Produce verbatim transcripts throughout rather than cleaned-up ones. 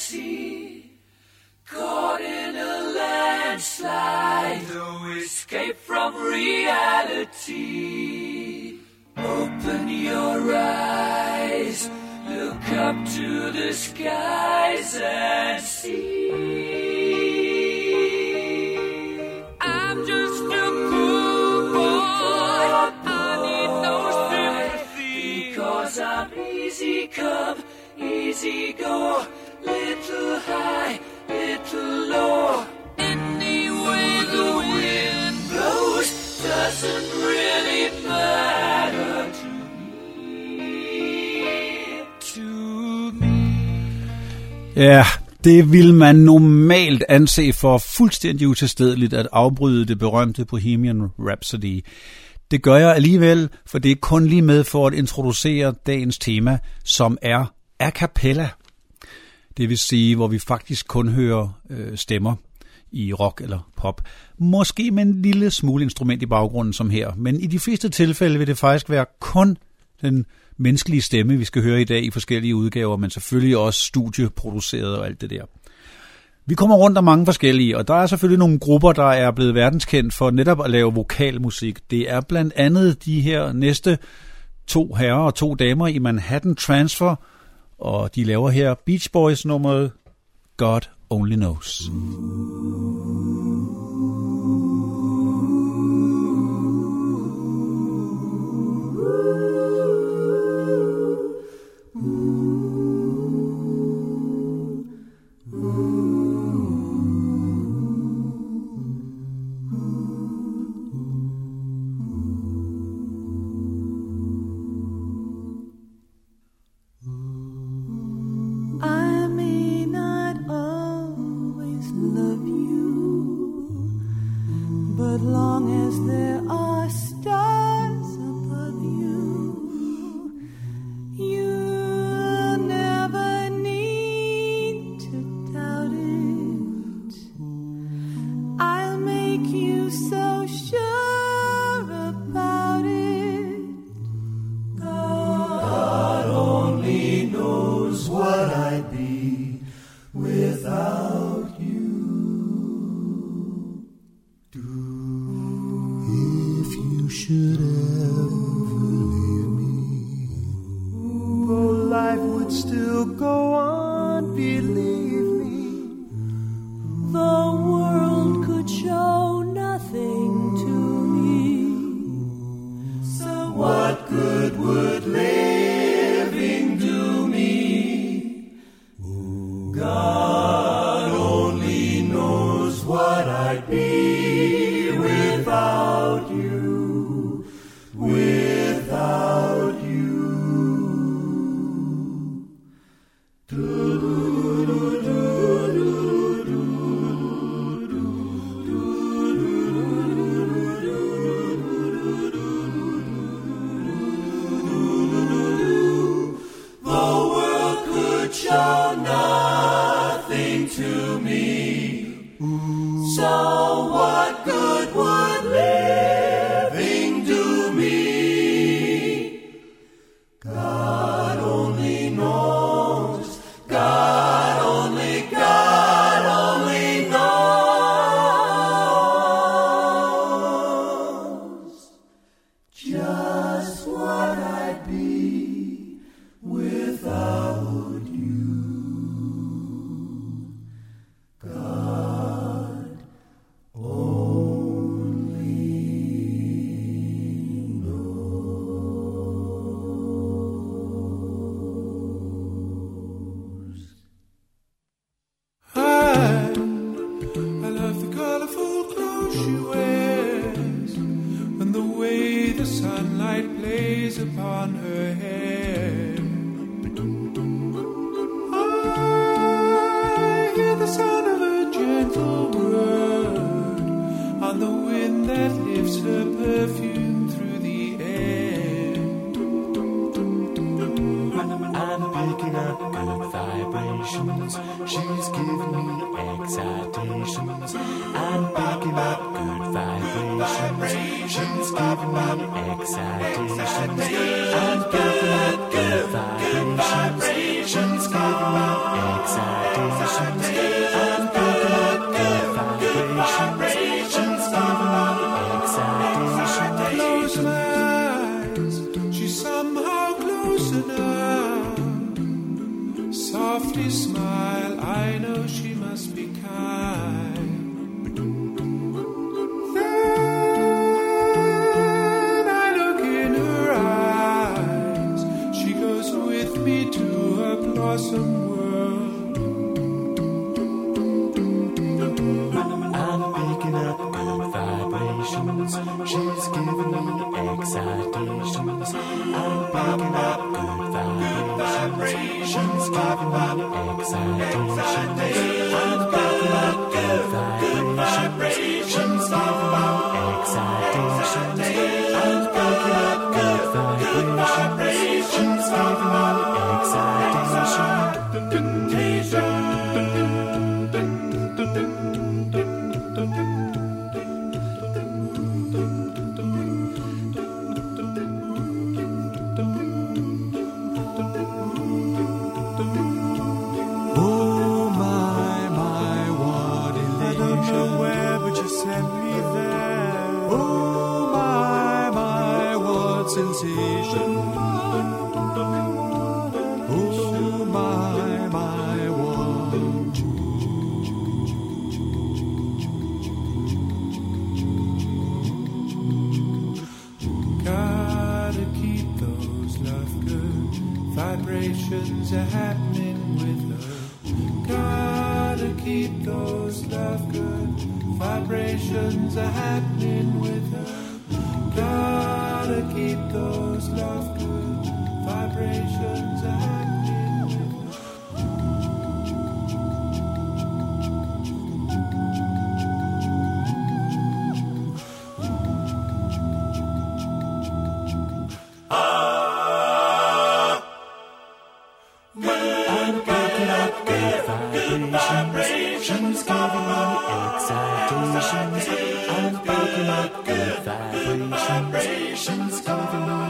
reality. Caught in a landslide, no escape from reality. Open your eyes, look up to the skies and see. I'm just a poor boy, I need no sympathy. Because I'm easy come, easy go, little high, little low. Any way the wind blows doesn't really matter to me. To me. Ja, det vil man normalt anse for fuldstændig utilstedeligt at afbryde det berømte Bohemian Rhapsody. Det gør jeg alligevel, for det er kun lige med for at introducere dagens tema, som er a cappella. Det vil sige, hvor vi faktisk kun hører øh, stemmer i rock eller pop. Måske med en lille smule instrument i baggrunden som her, men i de fleste tilfælde vil det faktisk være kun den menneskelige stemme, vi skal høre i dag i forskellige udgaver, men selvfølgelig også studieproduceret og alt det der. Vi kommer rundt om mange forskellige, og der er selvfølgelig nogle grupper, der er blevet verdenskendt for netop at lave vokalmusik. Det er blandt andet de her næste to herrer og to damer i Manhattan Transfer, og de laver her Beach Boys nummeret God Only Knows. She's giving me excitations. I'm picking up good vibrations. She's giving me excitations. I'm picking up good vibrations. She's giving me excitations. loosen up, softly smile, I know she must be kind. Then I look in her eyes, she goes with me to her blossom world. I'm picking up good vibrations, she's giving me excitations. I'm picking up good vibrations, she's giving me excitations. I'm picking up good vibrations, she's giving me excitations. I'm picking up good vibrations, she's giving me sensation. Oh my, my one. Gotta keep those love good vibrations are happening with her. Gotta keep those love good vibrations are happening with her. Gotta keep those love good vibrations happening with her. I'm picking up good vibrations, giving me excitations. I'm picking up good vibrations, giving me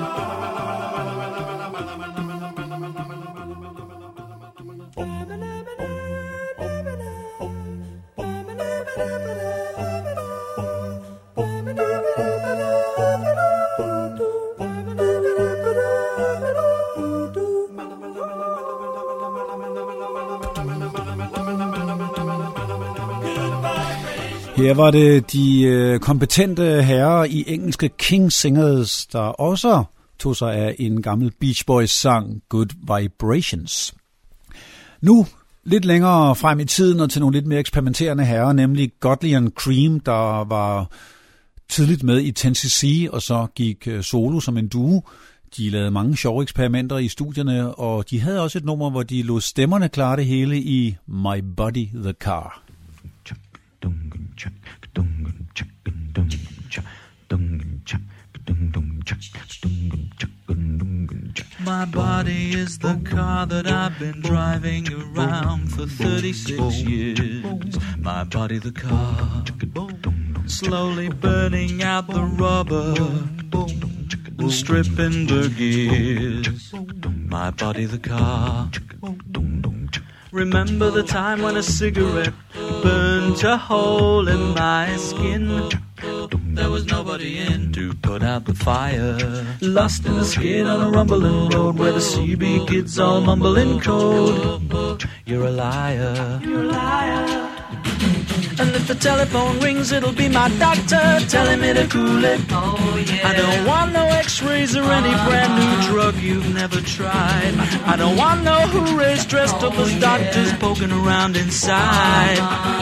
Her var det de øh, kompetente herrer i engelske King Singers, der også tog sig af en gammel Beach Boys sang, Good Vibrations. Nu lidt længere frem i tiden og til nogle lidt mere eksperimenterende herrer, nemlig Godley and Cream, der var tidligt med i ten C C og så gik solo som en duo. De lavede mange sjove eksperimenter i studierne, og de havde også et nummer, hvor de lod stemmerne klare det hele i My Body the Car. My body is the car that I've been driving around for thirty-six years. My body the car, slowly burning out the rubber and stripping the gears. My body the car. Remember the time when a cigarette burnt a hole in my skin? There was nobody in to put out the fire. Lost in the skid on a rumbling road where the C B kids all mumbling code. You're a liar. You're a liar. And if the telephone rings, it'll be my doctor telling me to cool it. Oh, yeah. I don't want no x-rays or any brand new drug you've never tried. I don't want no hoorays dressed up as doctors poking around inside.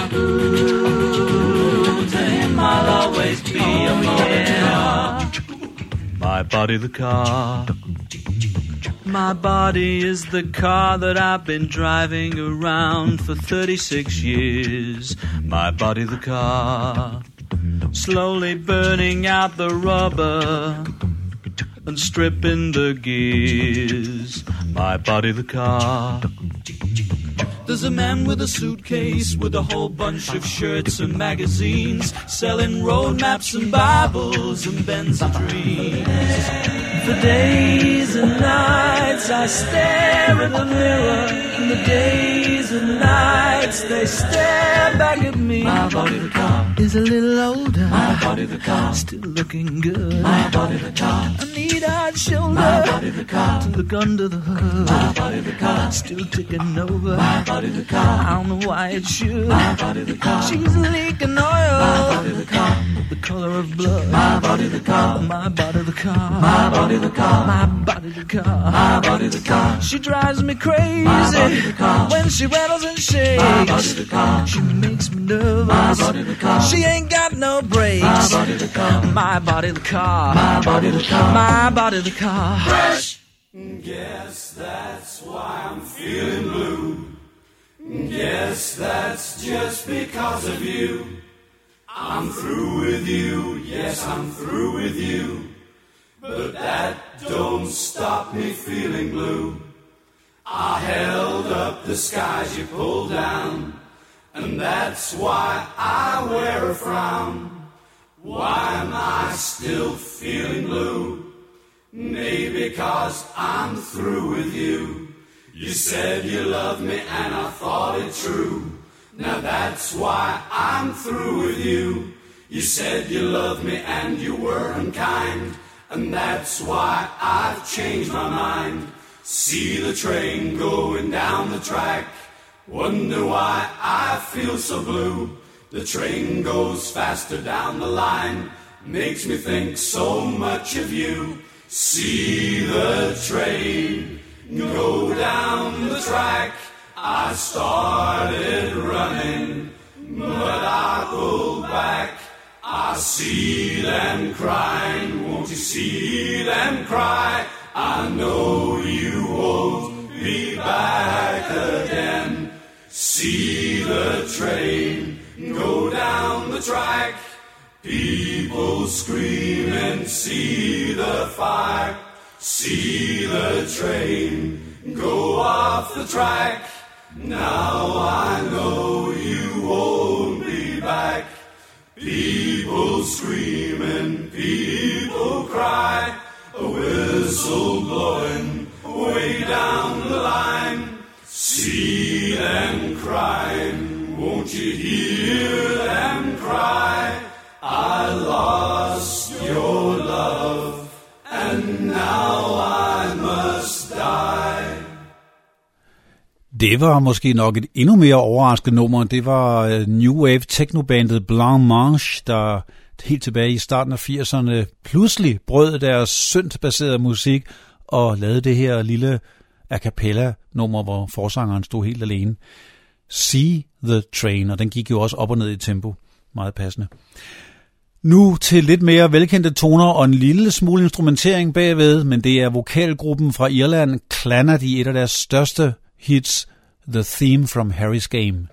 Ooh, to him I'll always be a yeah. My body the car. My body is the car that I've been driving around for thirty-six years. My body the car, slowly burning out the rubber and stripping the gears. My body the car. There's a man with a suitcase with a whole bunch of shirts and magazines, selling road maps and Bibles and Benz and dreams. For days and nights I stare in the mirror, and the days and nights they stare back at me. My body the car is a little older. My body the car still looking good. My body the car. I need wide-eyed shoulder. My body the car. To look under the hood. My body the car. Still ticking over. My body the car. I don't know why it should. My body the car. She's leaking oil. My body the car. The color of blood. My body the car. My body the car. My body the car. My body the car. My body the car. She drives me crazy. My body the car. When she rattles and shakes. My body the car. She makes me nervous. My body the car. She ain't got no brakes. My body the car. My body the car. My body the car. My body the car. Fresh. Guess that's why I'm feeling blue. Guess that's just because of you. I'm through with you, yes, I'm through with you. But that don't stop me feeling blue. I held up the skies you pulled down, and that's why I wear a frown. Why am I still feeling blue? Maybe because I'm through with you. You said you loved me and I thought it true. Now that's why I'm through with you. You said you loved me and you were unkind, and that's why I've changed my mind. See the train going down the track, wonder why I feel so blue. The train goes faster down the line, makes me think so much of you. See the train go down the track. I started running, but I pulled back. I see them crying, won't you see them cry? I know you won't be back again. See the train go down the track. People scream and see the fire. See the train go off the track. Now I know you won't be back. People scream and people cry. A whistle blowing way down the line. See them crying, won't you hear them cry? I lost your love, and now I must die. Det var måske nok et endnu mere overraskende nummer. Det var New Wave technobandet Blanc Mange, der helt tilbage i starten af firserne pludselig brød deres synth-baserede musik og lavede det her lille a cappella nummer, hvor forsangeren stod helt alene. See the Train, og den gik jo også op og ned i tempo. Meget passende. Nu til lidt mere velkendte toner og en lille smule instrumentering bagved, men det er vokalgruppen fra Irland, Clannad, i et af deres største hits, The Theme from Harry's Game.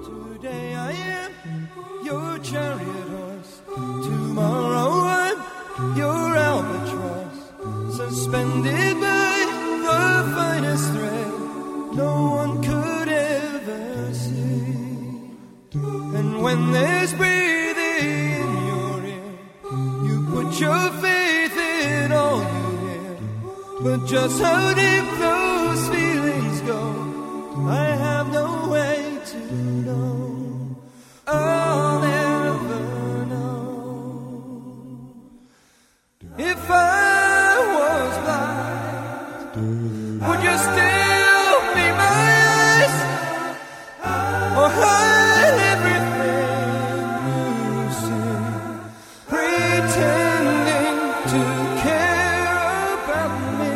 Today I am your chariot horse. Tomorrow I'm your albatross, suspended by the finest thread no one could ever see. And when there's breathing in your ear, you put your faith in all you hear. But just how deep those feelings go, I have no way to know. I'll never know. If I was blind, would you still be my eyes? Or hide everything you see, pretending to care about me,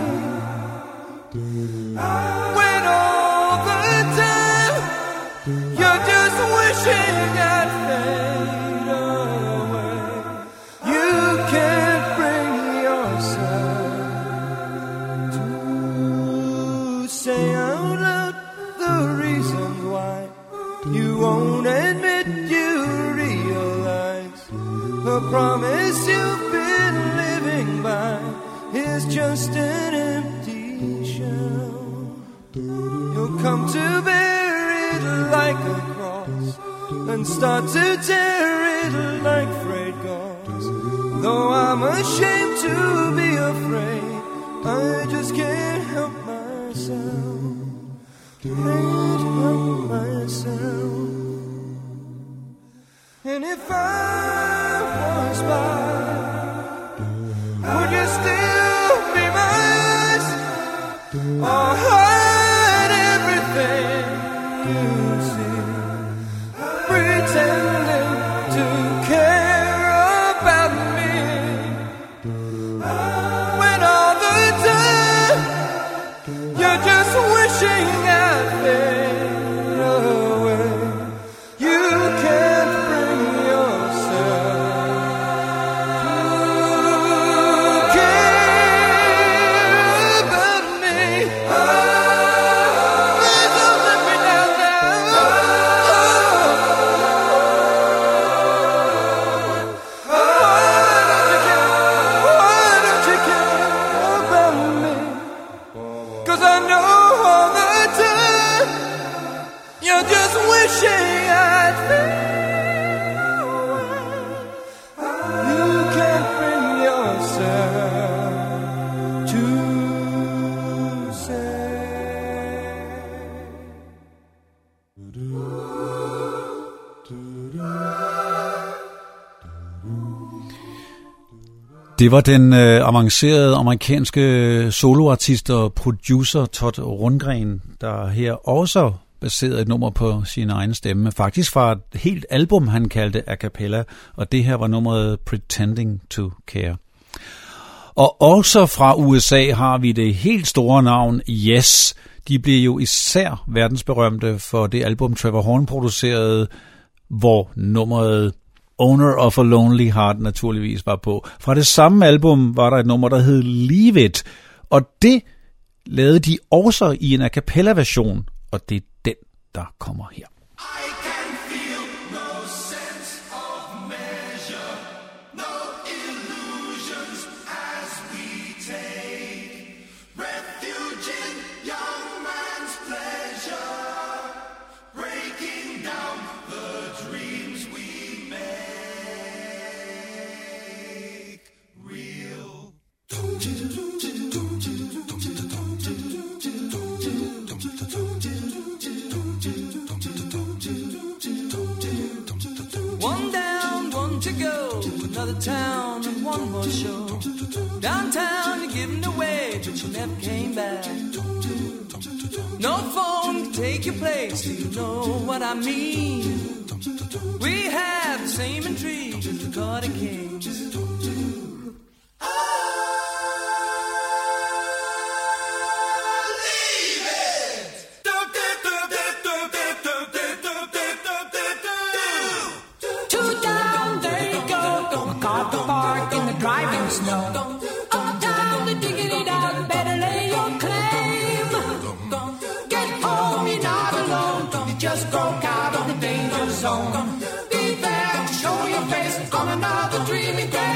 when all the time you're just wishing I'd fade away? You can't bring yourself to say out loud the reasons why you won't admit you realize the promise you've been living by is just an empty shell. You'll come to bear it like a cross and start to tear it like frayed gauze. Though I'm ashamed to be afraid, I just can't help myself. Can't help myself. And if I was blind, would you still be my eyes? Or hide everything you see, pretending to care about me, when all the time you're just wishing I'd fade away? You can't bring yourself to care about me. Please don't let me down now. Why don't you care? Why don't you care about me? 'Cause I know all the time you're just wishing I'd fade away. You can't bring yourself to say. Det var den øh, avancerede amerikanske soloartist og producer Todd Rundgren, der her også baserede et nummer på sin egen stemme. Faktisk fra et helt album, han kaldte a cappella, og det her var nummeret Pretending to Care. Og også fra U S A har vi det helt store navn Yes. De blev jo især verdensberømte for det album Trevor Horn producerede, hvor nummeret Owner of a Lonely Heart naturligvis var på. Fra det samme album var der et nummer, der hed Leave It, og det lavede de også i en a cappella version, og det er den, der kommer her. I can feel no sense of measure, no illusions as we take refuge in young man's pleasure, breaking down the dreams we make real. One down, one to go, another town and one more show. Downtown you given away, but you never came back. No phone to take your place, do you know what I mean? We have the same intrigue as the Carter Kings. Driving snow. Uptown, the diggity dog, better lay your claim. Get home, you're not alone. You just go walk out on the danger zone. Be there to show your face on another dreamy day.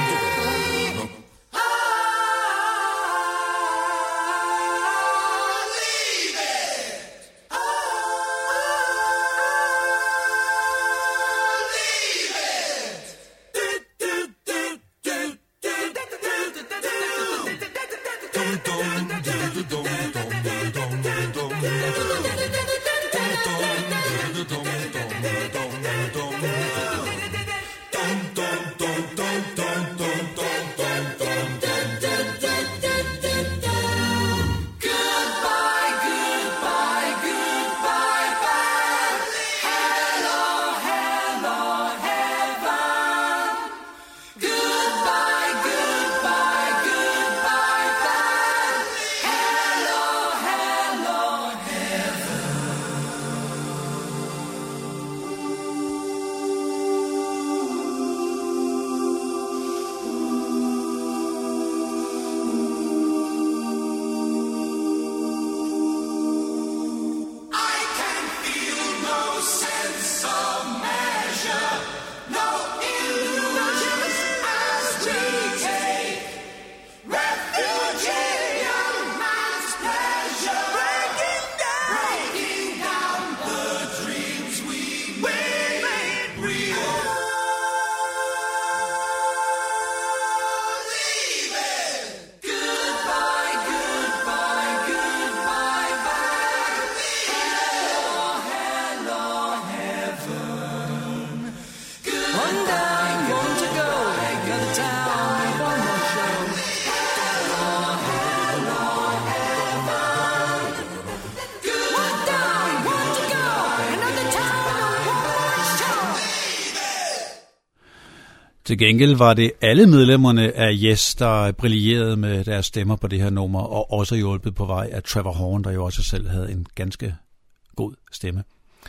Til gengæld var det alle medlemmerne af Yes, der brillerede med deres stemmer på det her nummer, og også hjulpet på vej af Trevor Horn, der jo også selv havde en ganske god stemme.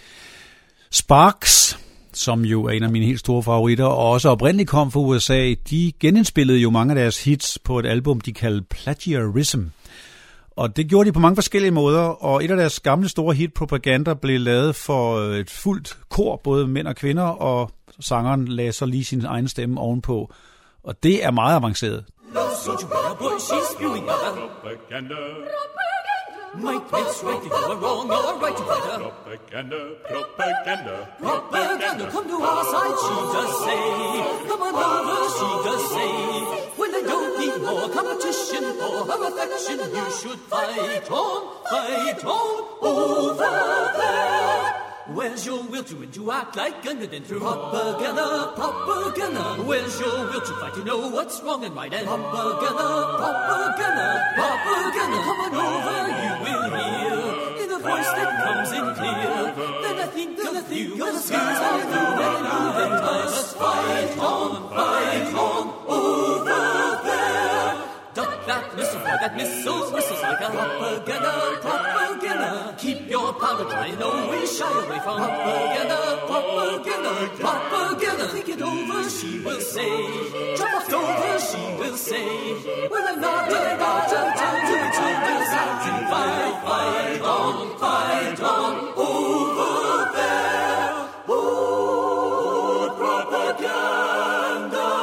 Sparks, som jo er en af mine helt store favoritter, og også oprindeligt kom fra U S A, de genindspillede jo mange af deres hits på et album, de kaldte Plagiarism. Og det gjorde de på mange forskellige måder, og et af deres gamle store hit, Propaganda, blev lavet for et fuldt kor, både mænd og kvinder, og sangeren lagde så lige sin egen stemme ovenpå. Og det er meget avanceret. Propaganda. Might makes right if you are wrong, you're right to fight. Propaganda, propaganda, propaganda. Come to our side, she does say. Come on over, she does say. When I don't need more competition for her affection, you should fight on, fight on over there. Where's your will to win, to act like a good and through propaganda, propaganda? Where's your will to fight, to know what's wrong and right? And propaganda, propaganda, propaganda. Come on over, you will hear in a voice that comes in clear. Then I think of you, the skills I know that you then must fight on, fight on over there. Duck that missile, fire that missile, whistles like a propaganda, propaganda. Keep your powder dry, no we shy away from propaganda, propaganda, propaganda. Think it over, she will say. Drop off over, she will say. Well, I'm not really not to tell you the time is out to fight, fight on, fight on over there. Oh, propaganda.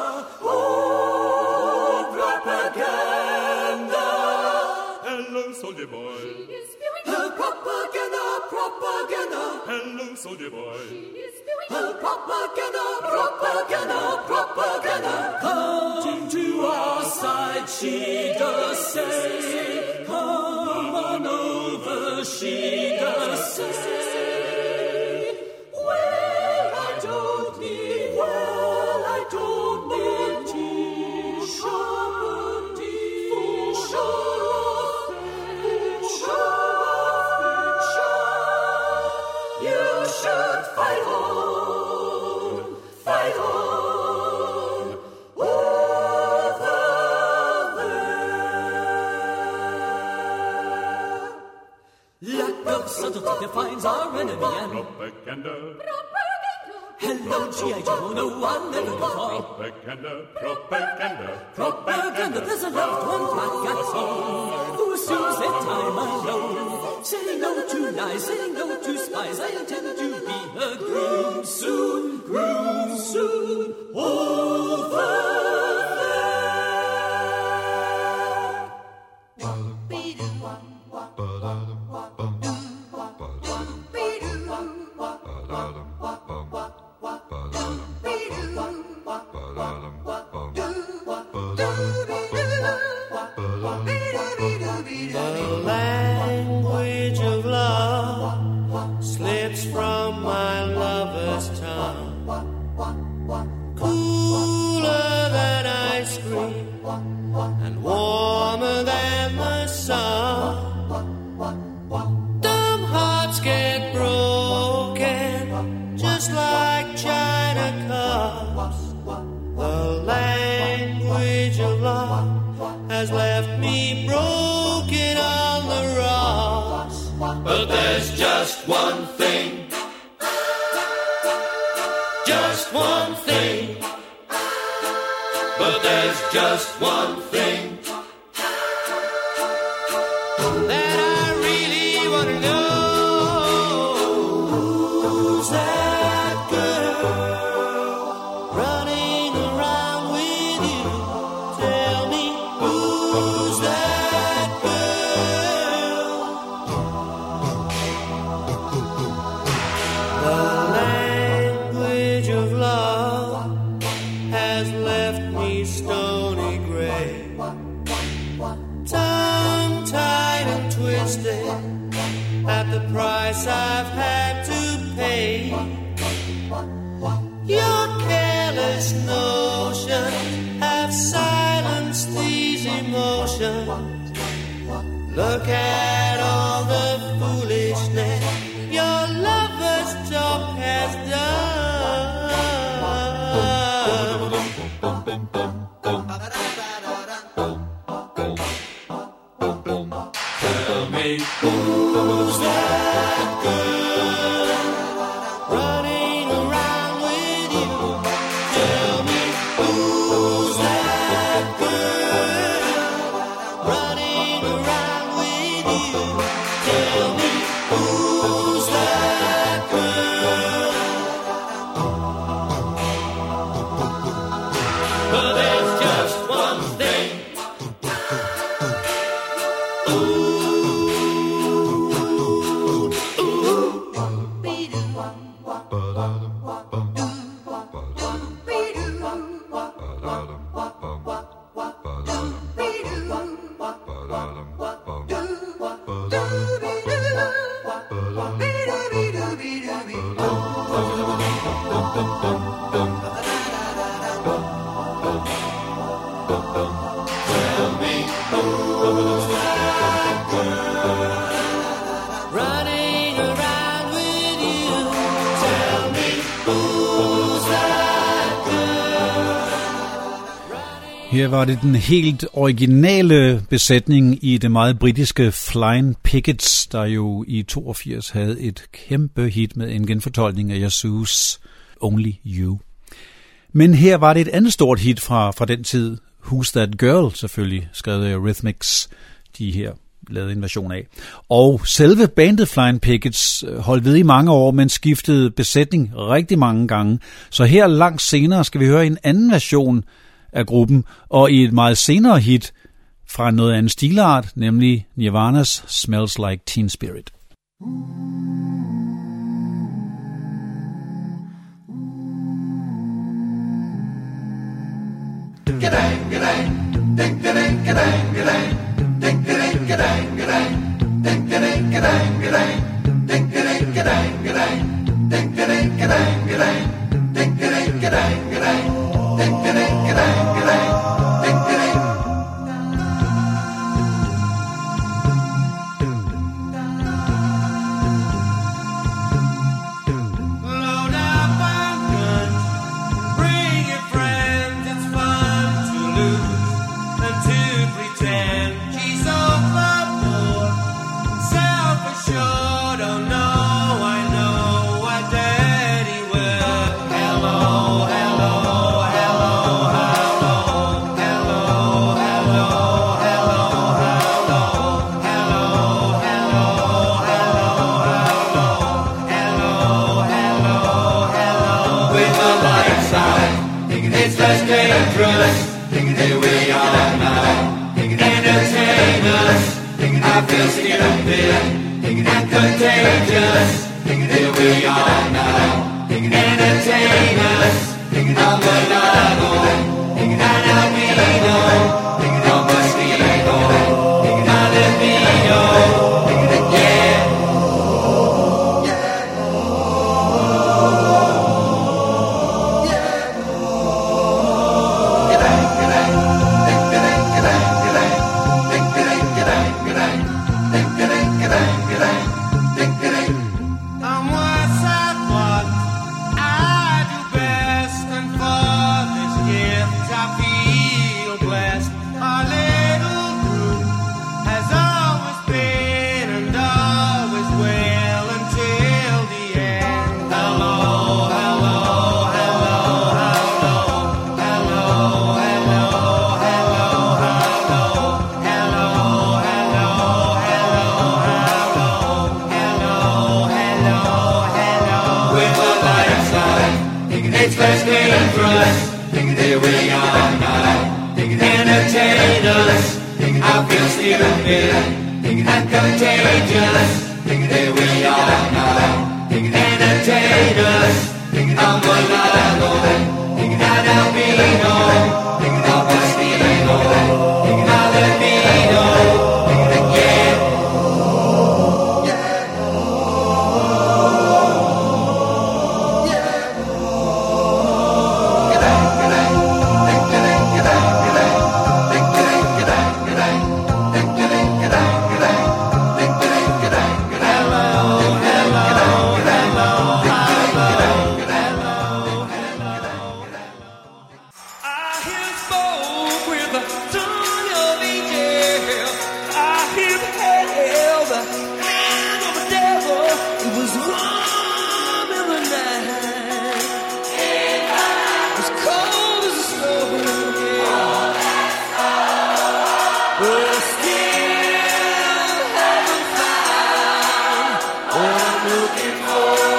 Soldier boy. She is spewing her propaganda, propaganda. Hello, soldier boy. She is spewing her propaganda, propaganda, propaganda. Come to our side, she does say. Come on over, she does say. Well, I don't need, well, I don't need t-shirt, t-shirt. Fight on, fight on, over there. Lack of subtlety defines our enemy and propaganda. Propaganda. Hello, G I Joe, no one never before. Propaganda, propaganda, propaganda. There's a loved one back at home who assumes their time alone. Say no to lies, say no to spies. I intend to be a groom soon, groom soon over there. The language of love slips from my lover's tongue, cooler than ice cream and warmer than the sun. Dumb hearts get broken just like china cups. The language of love has left me broken on the rocks. But there's just one thing, just one thing. But there's just one thing that I really want to know. Who's that girl running around with you? Tell me, who's that girl? The language of love has left me stony gray, tongue-tied and twisted at the price I've had to pay. Your careless notions have silenced these emotions. Look at all the foolishness your lover's talk has done. Tell me, who's that girl running around with you? Tell me, who's that girl running around with you? Tell me, who's that girl? But there's just one thing. Running around with you. Tell me, who's that girl? Her var det den helt originale besætning i det meget britiske Flying Pickets, der jo i toogfirs havde et kæmpe hit med en genfortolkning af Yazoo's Only You. Men her var det et andet stort hit fra, fra den tid, Who's That Girl, selvfølgelig, skrevet af Eurythmics, de her lavede en version af. Og selve bandet Flying Pickets holdt ved i mange år, men skiftede besætning rigtig mange gange. Så her langt senere skal vi høre en anden version af gruppen, og i et meget senere hit fra noget andet stilart, nemlig Nirvana's Smells Like Teen Spirit. Ga-dang, ga-dang, ding, ga-dang, ga-dang, ga-dang, ding, ga-dang, ga-dang, ga-dang, ding, ga-dang, ga-dang, ga-dang, ding, ga-dang, ga-dang, ga-dang, ding, ga-dang, ga-dang, ga-dang, ding, ga-dang, ga-dang, ga-dang, ding, ga-dang, ga-dang, ga-dang, ding, ga-dang. Load up on guns, bring your friends, it's fun to lose and to pretend. She's so clever, self-assured, oh no, I know what daddy will. Hello, hello, hello, hello, hello, It's less dangerous. Here we are now. Entertain us. I feel stupid and contagious. Here we are now. Entertain us. I'm a lago, and I'll be no. I'm a mosquito, my libido. Yeah. I'm what's at what I do best, and for this gift I feel blessed. Our little group has always been and always will until the end. Hello, hello, hello, hello, hello, hello, hello, hello, hello, hello, hello, hello, hello. With the lights on, it's less dangerous. Here we are now. Entertain us. I feel stupid and contagious. Here we are now. Entertain us. I'm a lago, and I'll be no. I'm a mosquito, my libido. Yeah. I hear smoke with the tongue of angel. I hear hell, the hand of the devil. It was warm in the night. As cold as the snow. But still haven't found what I'm looking for.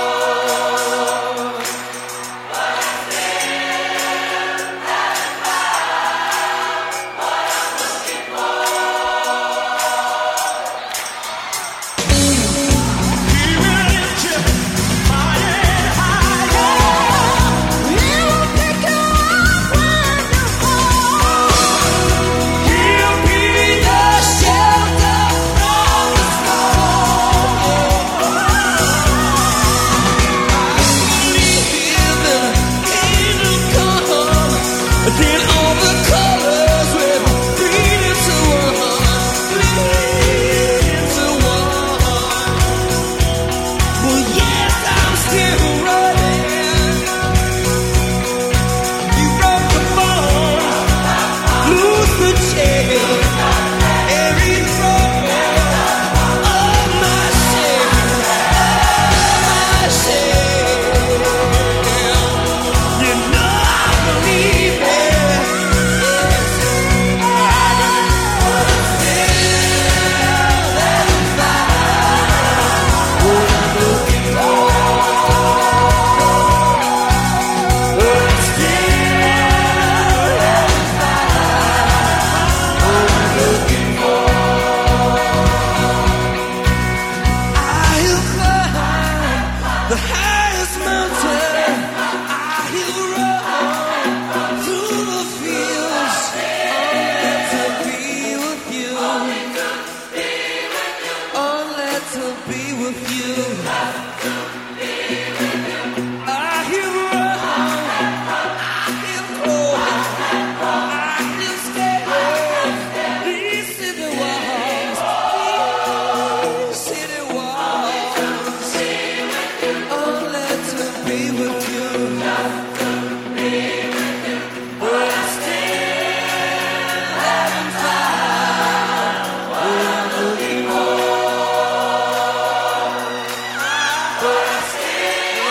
Again, all the colors will bleed into one, bleed into one. Well, yes, I'm still running. You broke the bone, lose the chain, every trouble of my shame, of my shame. You know I believe it. The highest mountain, I'll run through the fields, only to be with you, only to be with you. I'll run, I'll crawl, I'll scale these city walls, these city walls. Only to be with you. But still haven't found what I'm looking for. But still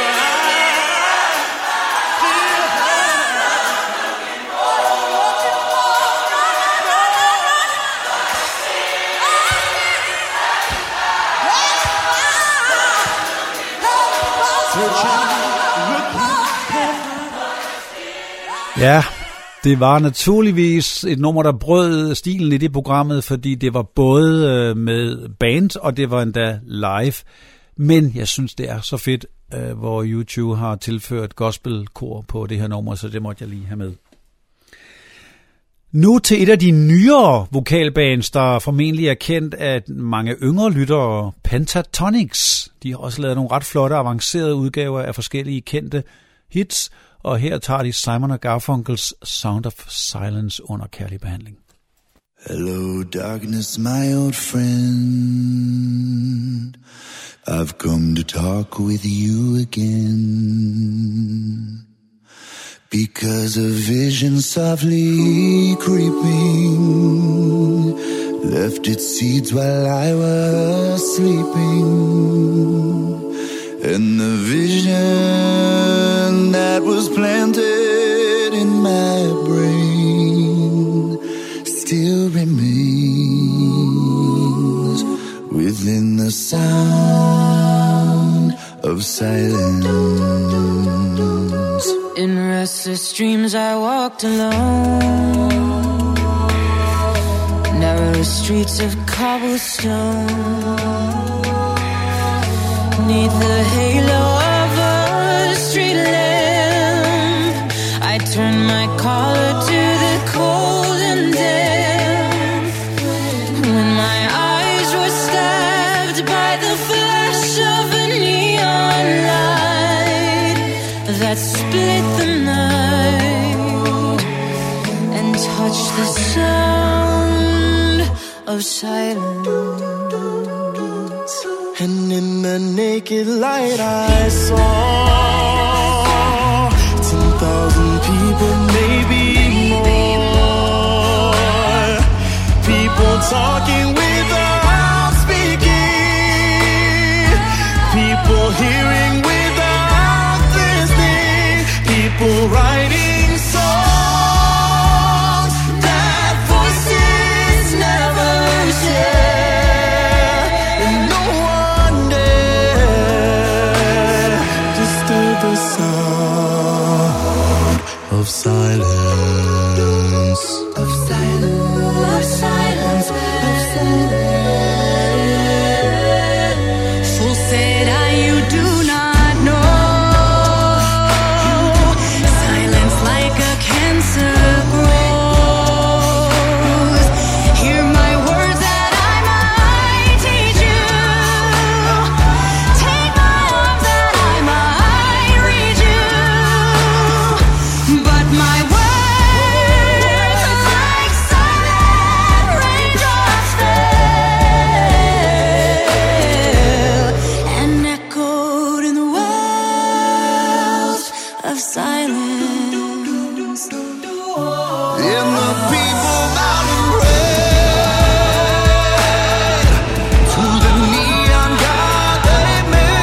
Searching, looking, Ja, det var naturligvis et nummer, der brød stilen i det programmet, fordi det var både med band, og det var endda live. Men jeg synes, det er så fedt, hvor U to har tilført gospelkor på det her nummer, så det måtte jeg lige have med. Nu til et af de nyere vokalbands, der formentlig er kendt af mange yngre lyttere, Pentatonix. De har også lavet nogle ret flotte, avancerede udgaver af forskellige kendte hits, og her tager de Simon og Garfunkels Sound of Silence under kærlig behandling. Hello darkness, my old friend. I've come to talk with you again. Because a vision softly creeping left its seeds while I was sleeping. And the vision that was planted in my brain still remains within the sound of silence. In restless dreams I walked alone, narrow streets of cobblestone. Neath the halo of a street lamp, I turned my collar to the cold and damp. When my eyes were stabbed by the flash of a neon light that split the night and touched the sound of silence. And in the naked light I saw ten thousand people, maybe more. People talking without speaking, people hearing without listening, people writing songs that voices never share. And no one dare disturb the sound of silence, of silence, of silence, of silence. Fool said I, you do not know. Silence like a cancer grows. Hear my words that I might teach you. Take my arms that I might reach you. But my words like silent raindrops fell and echoed in the wells of silence. And the people bowed and prayed to the neon god they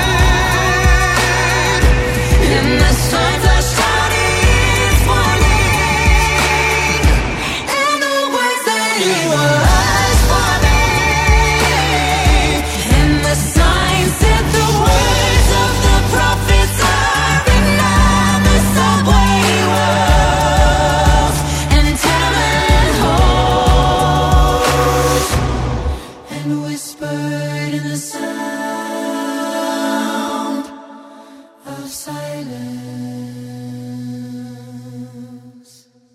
made. And the sun flashed out its warning, and the words that he was forming, and the sign said the words of the prophets are written on the subway walls and tenement halls, and whispered in the sound of silence.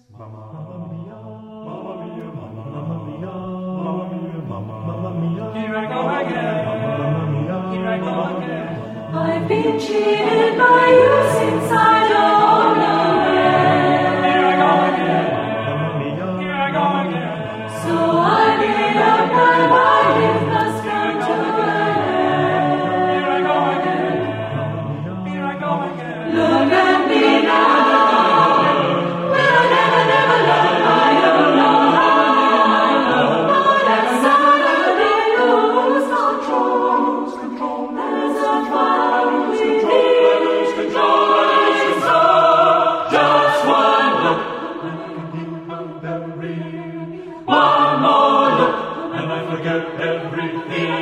I've been cheated by you since I don't know when. Here I go again. Here I go again. So I made up my mind it must come to an end. Here I go again. Here I go again. Look at me now. Will I never, never learn? I don't know how. Oh, that suddenly lose control. There's a fire within. Lose control. Lose control. Just one look. One more look, and I forget everything.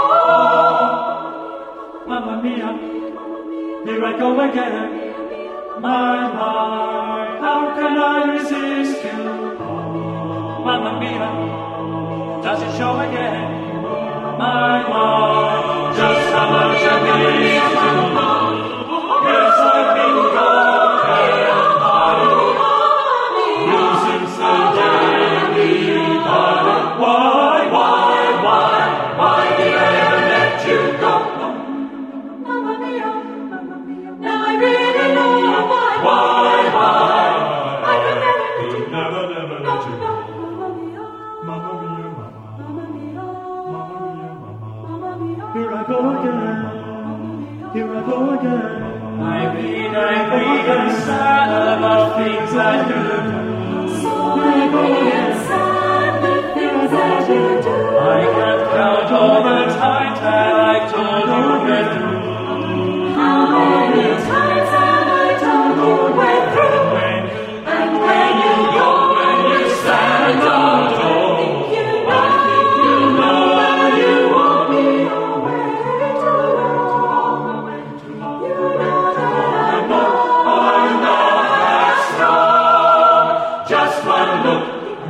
Mamma mia, here I go again. My, my, how can I resist you? Mamma mia, does it show again? My, my, just how much I need you. Yes, I've been broken, you since the day we parted. Why, why, why, why did I ever let you go? Mamma mia, mamma mia, now I really know why. Why, why? I could never let you go. Never, never No, let you no, go. mamma mia, Mamma mia, mamma, mamma mia, mamma mia, mamma. mamma mia. Here I go again, here I go again. I read, I read, and sad about things I do. So angry and sad, the things that you do. I can't count all the times that I told you we're through. How many times have I told you we're through? And when you go, when you stand on the door, you know, you know that you won't be away too long. You know that I know, I know that's wrong. Just one look,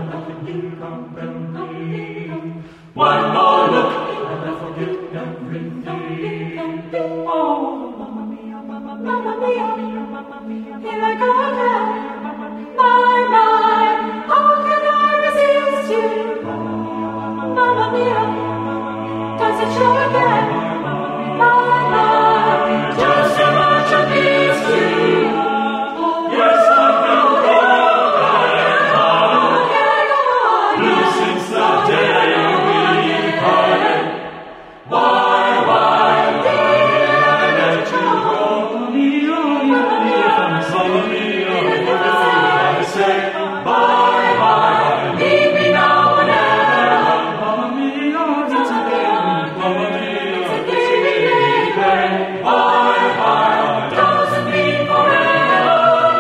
one more look, and I forget everything. Oh, mamma mia, mamma, mamma mia, mamma mia, here I go again. My, my, how can I resist you? Mamma mia, does it show again? My, my, just how much I miss you. Yes, I've been broken, blue since the day we parted. Why, why did I let you go? Mamma mia, mamma mia, I say bye, bye. Leave me now and ever. Mamma mia, it's a game. Mamma mia, It's a game, baby. bye, bye. Doesn't mean forever.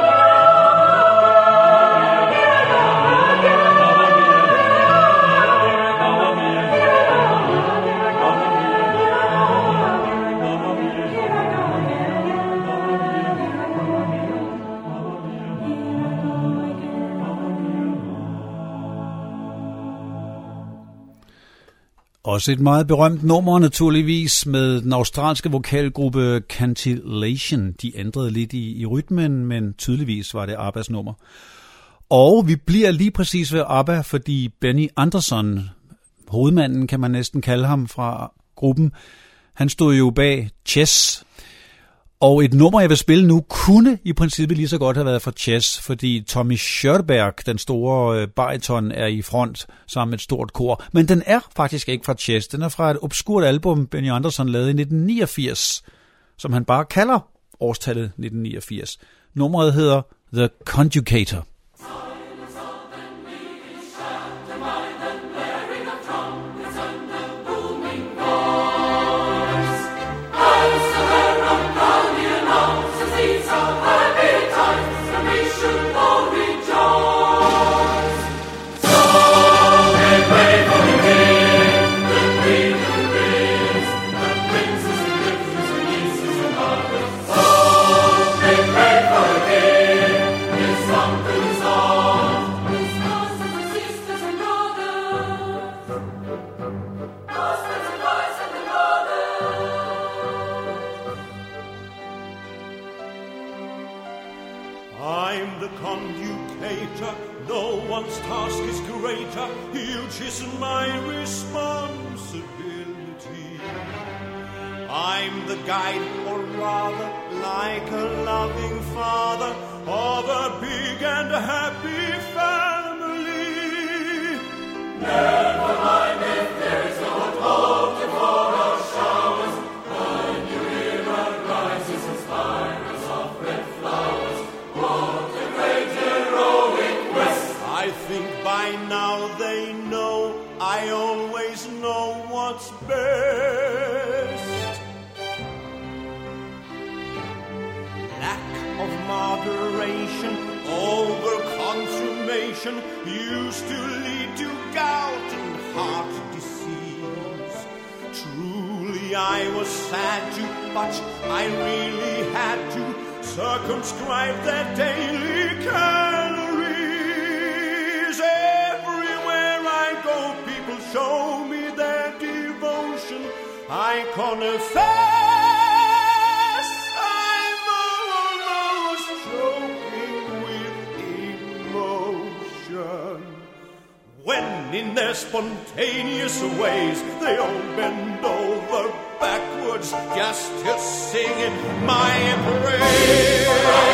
Også et meget berømt nummer naturligvis med den australske vokalgruppe Cantillation. De ændrede lidt i, i rytmen, men tydeligvis var det Abbas nummer. Og vi bliver lige præcis ved ABBA, fordi Benny Andersson, hovedmanden kan man næsten kalde ham fra gruppen, han stod jo bag Chess. Og et nummer, jeg vil spille nu, kunne i princippet lige så godt have været fra Chess, fordi Tommy Körberg, den store øh, bariton, er i front sammen med et stort kor. Men den er faktisk ikke fra Chess. Den er fra et obskurt album, Benny Andersson lavede i nitten niogfirs, som han bare kalder årstallet nitten niogfirs. Nummeret hedder The Conjugator. I'm the conjugator, no one's task is greater, huge is my responsibility. I'm the guide, or rather, like a loving father, of a big and happy family. Never mind if there's no hope for our showers, when you hear our rises and spirals of red flowers. I think by now they know I always know what's best. Lack of moderation, over consummation used to lead to gout and heart disease. Truly I was sad to, but I really had to circumscribe their daily calories. Everywhere I go, people show me their devotion. I confess I'm almost choking with emotion. When in their spontaneous ways they all bend over backwards just to sing in my praise.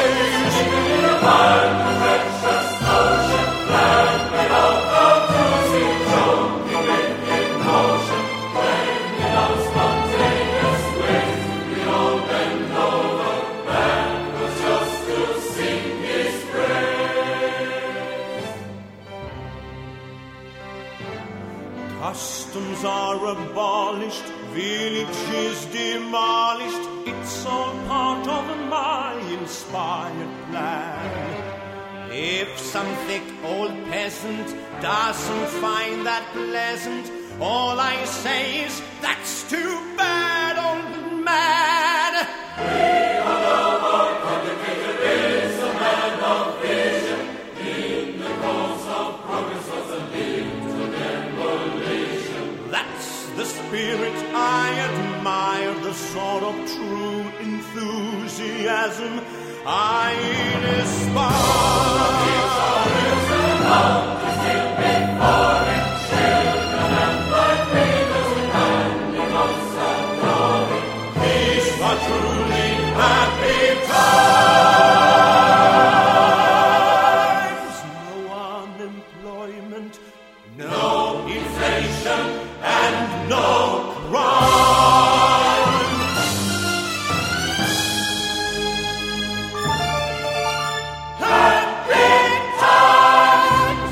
Customs are abolished, villages demolished. It's all part of my inspired plan. If some thick old peasant doesn't find that pleasant, all I say is, that's too bad, old man. We all know our educator is a man of vision. In the cause of progress was a lead to demolition. That's the spirit I admire, the sort of true enthusiasm I inspire. These are truly happy times. No unemployment, no inflation, and no crime. Happy times.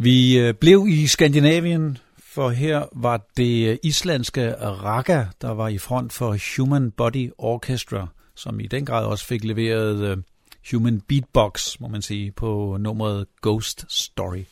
Vi øh, blev i Skandinavien, for her var det islandske Raga, der var i front for Human Body Orchestra, som i den grad også fik leveret øh, Human Beatbox, må man sige, på nummeret Ghost Story.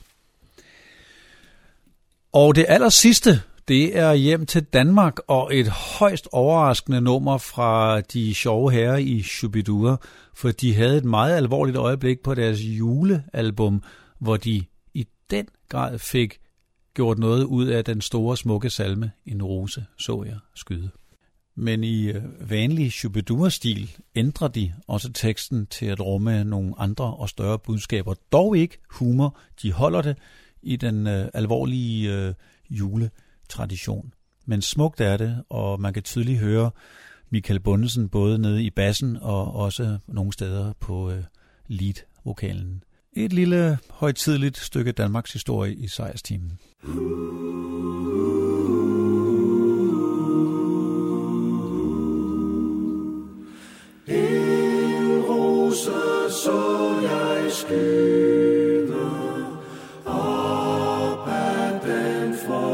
Og det aller sidste, det er hjem til Danmark og et højst overraskende nummer fra de sjove herrer i Shubidua, for de havde et meget alvorligt øjeblik på deres julealbum, hvor de i den grad fik gjort noget ud af den store smukke salme En rose så jeg skyde. Men i vanlig Shubidua-stil ændrer de også teksten til at rumme nogle andre og større budskaber. Dog ikke humor, de holder det i den øh, alvorlige øh, juletradition. Men smukt er det, og man kan tydeligt høre Michael Bundesen både nede i bassen og også nogle steder på øh, lead-vokalen. Et lille højtideligt stykke Danmarks historie i sejrstimen. En rose så jeg skyde op ad den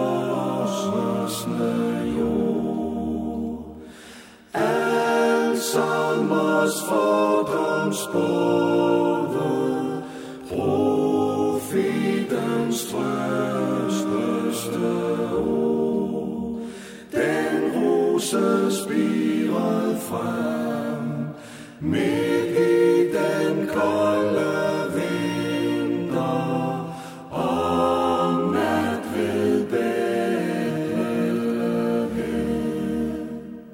frosne jord. Al sommers fordomsbåde, profetens trøsteste ord. Den rose spirede frem midt i den kolde vinter, om nat ved Bethlehem.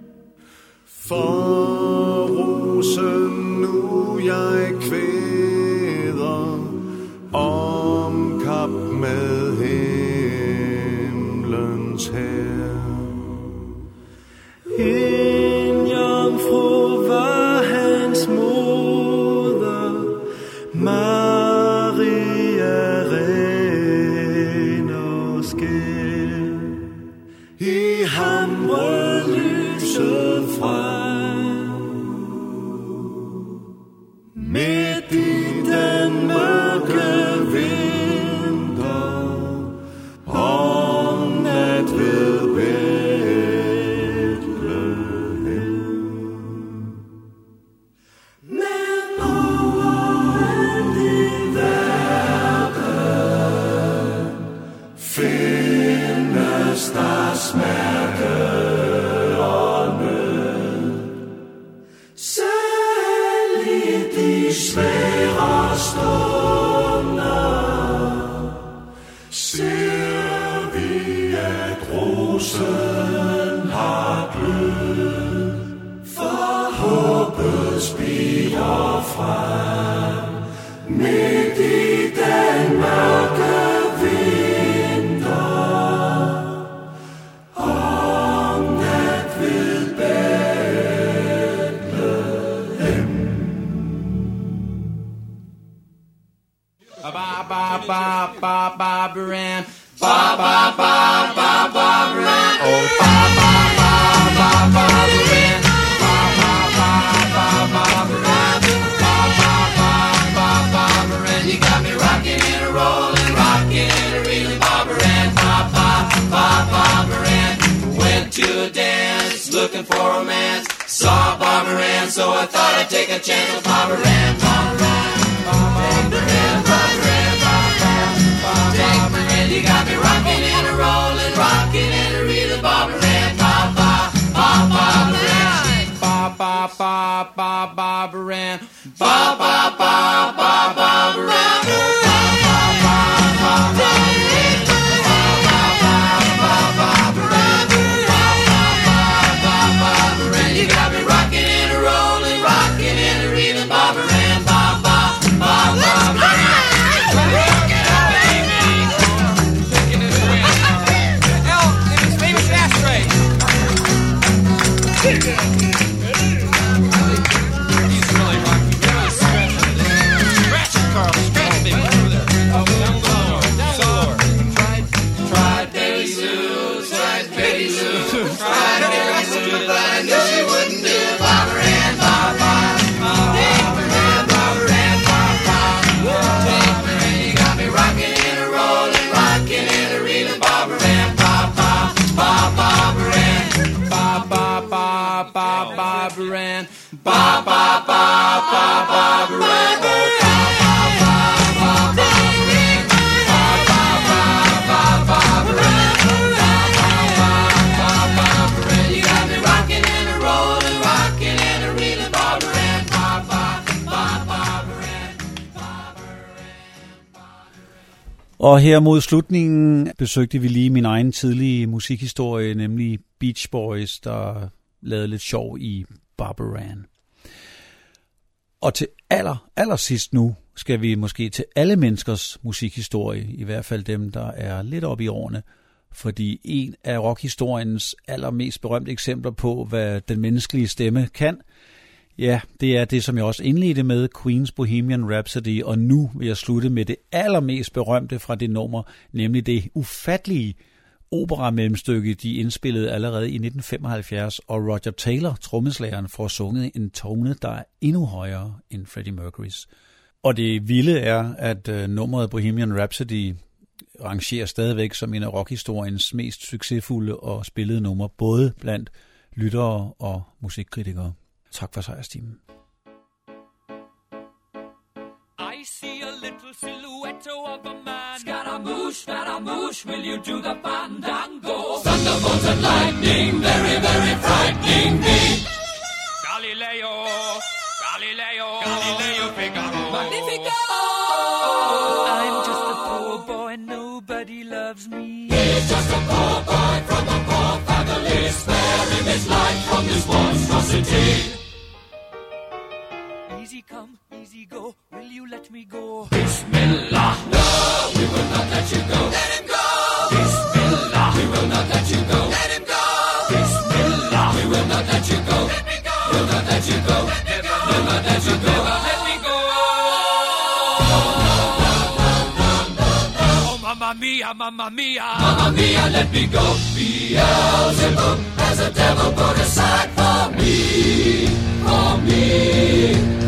For rosen nu jeg kvæder, om kap med himlens hær. En jomfru var hans moder, Maria ren og skær. I ham brød lyset frem, midt i den mørke vinter, om nat ved der smerte og nød. Selv i de svære stunder ser vi, at rosen har glød. For håbet spirer frem midt i den mørke ba ba ba Baran, ba ba ba ba ba Baran, oh ba ba ba ba ba Baran, ba ba ba ba ba Baran, ba ba ba ba ba Baran. You got me rocking and rolling, rocking and reeling, ba Baran, ba ba ba ba Baran. Went to a dance, looking for romance, saw Bob Baran, so I thought I'd take a chance with Bob Baran, Bob Baran, Bob Baran, Bob Baran. You got me rocking and a rolling, rocking and a reeling, Bob Baran, ba ba ba ba Baran, ba ba ba ba ba Baran, ba ba ba ba ba Baran, ba ba ba ba ba Baran, ba ba ba ba ba Baran, ba ba ba ba ba Baran. You got me rocking and a rolling, rocking and a reeling, Bob Baran, ba ba ba ba Baran. Og her mod slutningen besøgte vi lige min egen tidlige musikhistorie, nemlig Beach Boys, der lavede lidt sjov i Barbara Ann. Og til aller, aller sidst nu skal vi måske til alle menneskers musikhistorie, i hvert fald dem, der er lidt oppe i årene, fordi en af rockhistoriens allermest berømte eksempler på, hvad den menneskelige stemme kan, ja, det er det, som jeg også indledte med, Queen's Bohemian Rhapsody, og nu vil jeg slutte med det allermest berømte fra det nummer, nemlig det ufattelige opera-mellemstykke, de indspillede allerede i nitten femoghalvfjerds, og Roger Taylor, trommeslageren, får sunget en tone, der er endnu højere end Freddie Mercurys. Og det vilde er, at uh, nummeret Bohemian Rhapsody rangerer stadigvæk som en af rockhistoriens mest succesfulde og spillede numre, både blandt lyttere og musikkritikere. Tak for sejrstimen. I see a little silhouette of a man. Scaramouche, Scaramouche, will you do the fandango? Thunderbolt and lightning, very, very frightening me. Galileo, Galileo, Galileo Figaro. Magnifico! I'm just a poor boy, nobody loves me. He's just a poor boy from a poor family, sparing his life from this monstrosity. Easy come, easy go, will you let me go? Bismillah, no, we will not let you go. Let him go! Bismillah, we will not let you go. Let him go! Bismillah, we will not let you go. Let me go! We'll not let you go. Let me go! We'll not let you go. Let me go! No, no, no, no, no, no, no. Oh, mamma mia, mamma mia. Mamma mia, let me go. Beelzebub has a devil put aside for me, for me.